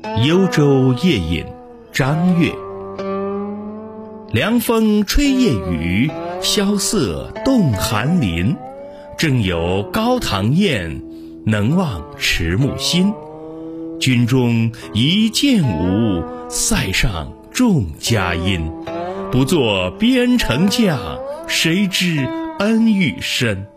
幽州夜饮，张悦。凉风吹夜雨，萧瑟动寒林。正有高堂宴，能忘迟暮心。军中一剑舞，塞上众佳音。不作边城将，谁知恩欲深。